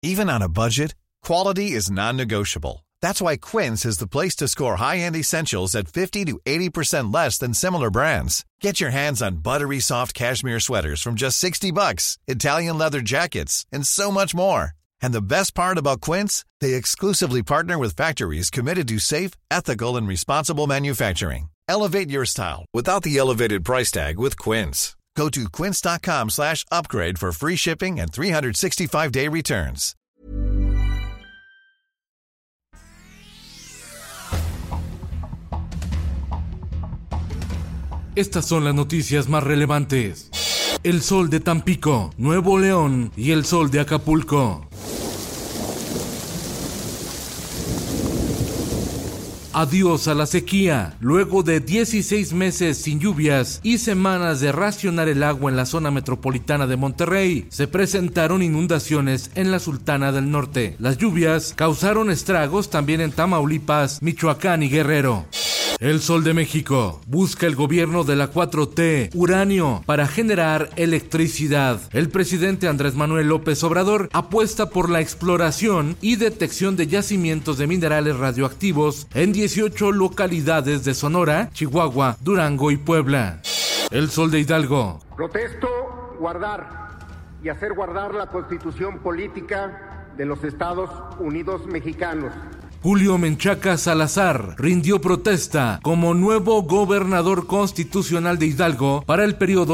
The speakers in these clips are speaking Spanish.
Even on a budget, quality is non-negotiable. That's why Quince is the place to score high-end essentials at 50 to 80% less than similar brands. Get your hands on buttery soft cashmere sweaters from just $60, Italian leather jackets, and so much more. And the best part about Quince, they exclusively partner with factories committed to safe, ethical, and responsible manufacturing. Elevate your style without the elevated price tag with Quince. Go to quince.com/upgrade for free shipping and 365-day returns. Estas son las noticias más relevantes. El sol de Tampico, Nuevo León y el sol de Acapulco. Adiós a la sequía. Luego de 16 meses sin lluvias y semanas de racionar el agua en la zona metropolitana de Monterrey, se presentaron inundaciones en la Sultana del Norte. Las lluvias causaron estragos también en Tamaulipas, Michoacán y Guerrero. El Sol de México. Busca el gobierno de la 4T uranio para generar electricidad. El presidente Andrés Manuel López Obrador apuesta por la exploración y detección de yacimientos de minerales radioactivos en 18 localidades de Sonora, Chihuahua, Durango y Puebla. El Sol de Hidalgo. Protesto guardar y hacer guardar la Constitución política de los Estados Unidos mexicanos. Julio Menchaca Salazar rindió protesta como nuevo gobernador constitucional de Hidalgo para el periodo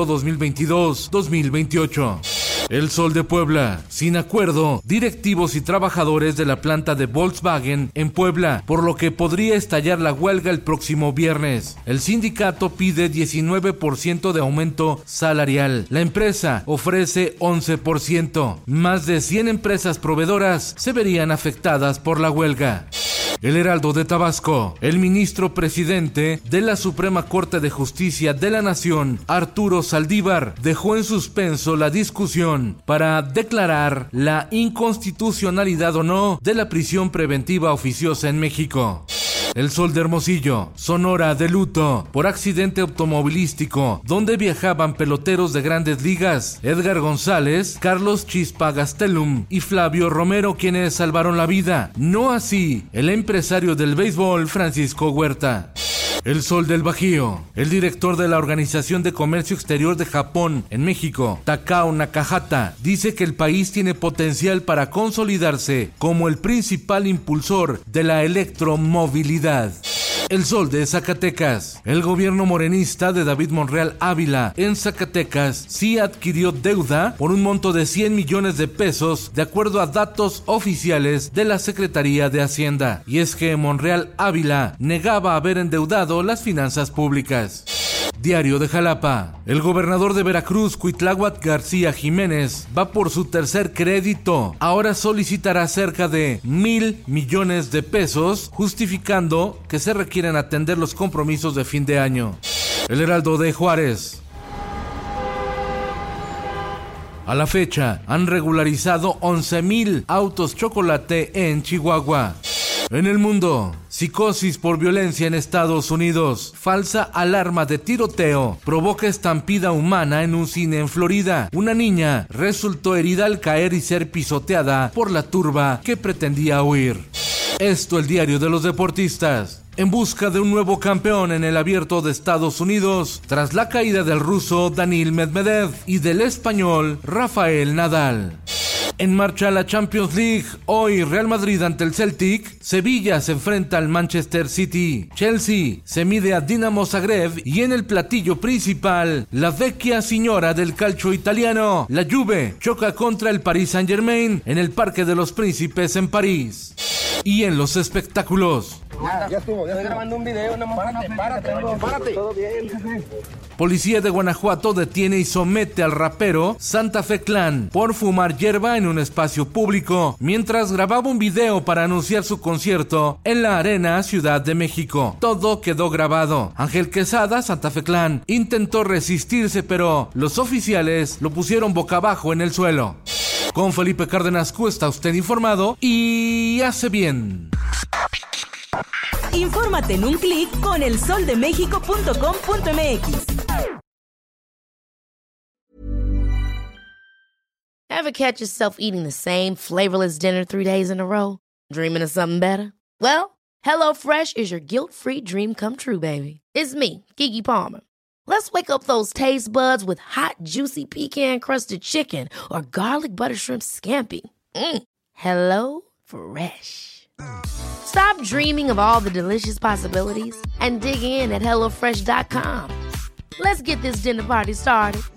2022-2028. El Sol de Puebla. Sin acuerdo, directivos y trabajadores de la planta de Volkswagen en Puebla, por lo que podría estallar la huelga el próximo viernes. El sindicato pide 19% de aumento salarial. La empresa ofrece 11%. Más de 100 empresas proveedoras se verían afectadas por la huelga. El Heraldo de Tabasco. El ministro presidente de la Suprema Corte de Justicia de la Nación, Arturo Saldívar, dejó en suspenso la discusión para declarar la inconstitucionalidad o no de la prisión preventiva oficiosa en México. El Sol de Hermosillo. Sonora de luto por accidente automovilístico donde viajaban peloteros de Grandes Ligas, Edgar González, Carlos Chispa Gastelum y Flavio Romero, quienes salvaron la vida. No así el empresario del béisbol Francisco Huerta. El Sol del Bajío. El director de la Organización de Comercio Exterior de Japón en México, Takao Nakahata, dice que el país tiene potencial para consolidarse como el principal impulsor de la electromovilidad. El Sol de Zacatecas. El gobierno morenista de David Monreal Ávila en Zacatecas sí adquirió deuda por un monto de 100 millones de pesos, de acuerdo a datos oficiales de la Secretaría de Hacienda. Y es que Monreal Ávila negaba haber endeudado las finanzas públicas. Diario de Jalapa. El gobernador de Veracruz, Cuitláhuac García Jiménez, va por su tercer crédito. Ahora solicitará cerca de 1,000 millones de pesos, justificando que se requieren atender los compromisos de fin de año. El Heraldo de Juárez. A la fecha, han regularizado 11,000 autos chocolate en Chihuahua. En el mundo, psicosis por violencia en Estados Unidos. Falsa alarma de tiroteo provoca estampida humana en un cine en Florida. Una niña resultó herida al caer y ser pisoteada por la turba que pretendía huir. Esto el diario de los deportistas. En busca de un nuevo campeón en el Abierto de Estados Unidos, tras la caída del ruso Daniil Medvedev y del español Rafael Nadal. En marcha la Champions League. Hoy Real Madrid ante el Celtic, Sevilla se enfrenta al Manchester City, Chelsea se mide a Dinamo Zagreb y en el platillo principal, la vecchia signora del calcio italiano, la Juve, choca contra el Paris Saint-Germain en el Parque de los Príncipes en París. Y en los espectáculos. Ya estuvo. Estoy grabando un video, párate. Todo bien, jefe. Policía de Guanajuato detiene y somete al rapero Santa Fe Clan por fumar hierba en un espacio público mientras grababa un video para anunciar su concierto en la Arena Ciudad de México. Todo quedó grabado. Ángel Quesada, Santa Fe Clan, intentó resistirse, pero los oficiales lo pusieron boca abajo en el suelo. Con Felipe Cárdenas Q está usted informado y hace bien. Infórmate en un clic con elsoldemexico.com.mx. Ever catch yourself eating the same flavorless dinner 3 days in a row? Dreaming of something better? Well, HelloFresh is your guilt-free dream come true, baby. It's me, Keke Palmer. Let's wake up those taste buds with hot, juicy pecan-crusted chicken or garlic butter shrimp scampi. Hello Fresh. Stop dreaming of all the delicious possibilities and dig in at HelloFresh.com. Let's get this dinner party started.